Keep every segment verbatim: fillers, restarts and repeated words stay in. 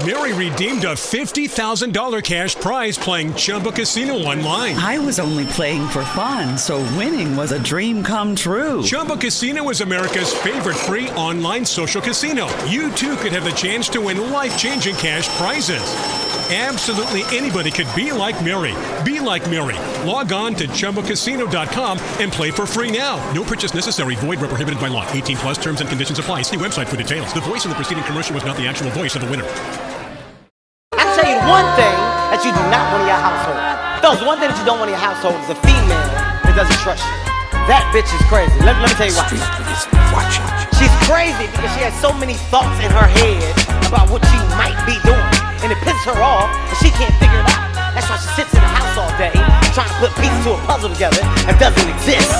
Mary redeemed a fifty thousand dollars cash prize playing Chumba Casino online. I was only playing for fun, so winning was a dream come true. Chumba Casino is America's favorite free online social casino. You too could have the chance to win life-changing cash prizes. Absolutely anybody could be like Mary. Be like Mary. Log on to Chumba Casino dot com and play for free now. No purchase necessary. Void where prohibited by law. eighteen plus terms and conditions apply. See website for details. The voice in the preceding commercial was not the actual voice of the winner. I tell you one thing that you do not want in your household. Fellas, one thing that you don't want in your household is a female that doesn't trust you. That bitch is crazy. Let, let me tell you why. She's crazy because she has so many thoughts in her head about what she might be doing. And it pisses her off, and she can't figure it out. That's why she sits in the house all day, trying to put pieces to a puzzle together that doesn't exist.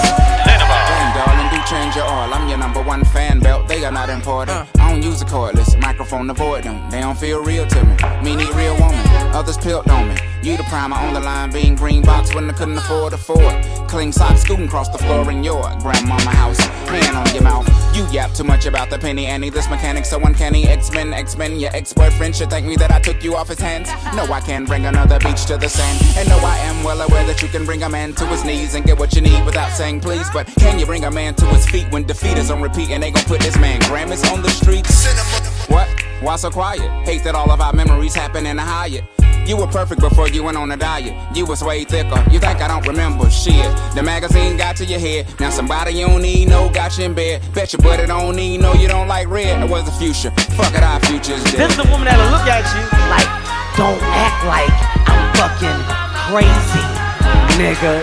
Damn, darling, do change your oil. I'm your number one fan belt. They are not important. Uh. I don't use a cordless microphone to avoid them. They don't feel real to me. Me need real woman. Others pilt on me. You the primer on the line, being green box when I couldn't afford a Ford. Clean socks scooting across the floor in your grandmama house. Hand on your mouth. You yap too much about the penny Annie. This mechanic so uncanny. X-Men, X-Men. Your ex-boyfriend should thank me that I took you off his hands. No, I can't bring another beach to the sand. And no, I am well aware that you can bring a man to his knees and get what you need without saying please. But can you bring a man to his feet when defeat is on repeat and they gon' put this man Grammys on the streets? What? Why so quiet? Hate that all of our memories happen in a Hyatt. You were perfect before you went on a diet. You was way thicker. You think I don't remember shit? The magazine got to your head. Now somebody you don't need no got you in bed. Bet your buddy don't need no you don't like red. It was the future. Fuck it, our future's dead. This is the woman that'll look at you like, don't act like I'm fucking crazy, nigga.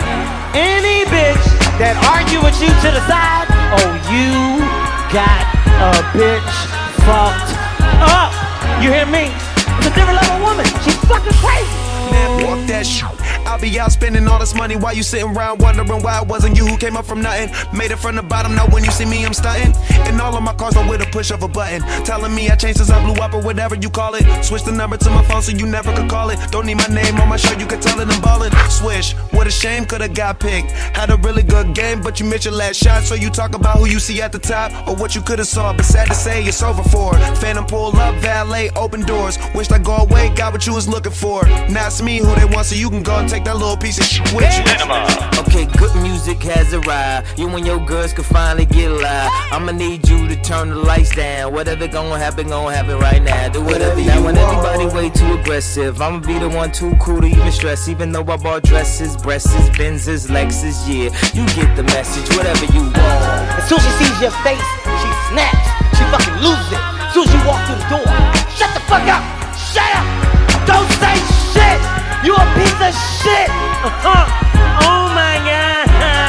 Any bitch that argue with you to the side, oh, you got a bitch fucked up. You hear me? It's a different level woman. She's fucking crazy. Man, walk that shit. I'll be out spending all this money while you sitting around wondering why it wasn't you who came up from nothing. Made it from the bottom, now when you see me I'm stunting. And all of my cars are with a push of a button. Telling me I changed since I blew up or whatever you call it. Switch the number to my phone so you never could call it. Don't need my name on my shirt, you can tell it I'm ballin'. Swish, what a shame, could've got picked. Had a really good game, but you missed your last shot. So you talk about who you see at the top or what you could've saw. But sad to say, it's over for. Phantom pull up, valet, open doors. Wished I go away, got what you was looking for. Now it's me who they want, so you can go and take that little piece of shit with you. Okay, good music has arrived. You and your girls can finally get live. I'ma need you to turn the lights down. Whatever gonna happen, gonna happen right now. Do whatever you want. Now when everybody way too aggressive, I'ma be the one too cool to even stress. Even though I bought dresses, breasts, Benzes, Lexus, yeah. You get the message, whatever you want. As soon as she sees your face, she snaps. She fucking loses it. As soon as you walk through the door, shut the fuck up. Shut up. Don't say shit. You a piece of shit. Uh-huh. Oh my god.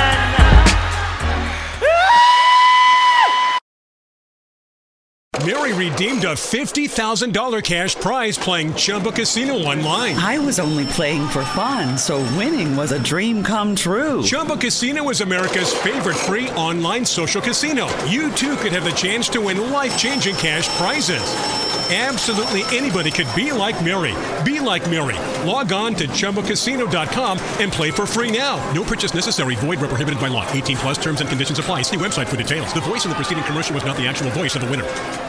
Mary redeemed a fifty thousand dollars cash prize playing Chumba Casino online. I was only playing for fun, so winning was a dream come true. Chumba Casino is America's favorite free online social casino. You too could have the chance to win life-changing cash prizes. Absolutely anybody could be like Mary. Be like Mary. Log on to Chumba Casino dot com and play for free now. No purchase necessary. Void where prohibited by law. eighteen plus terms and conditions apply. See website for details. The voice in the preceding commercial was not the actual voice of the winner.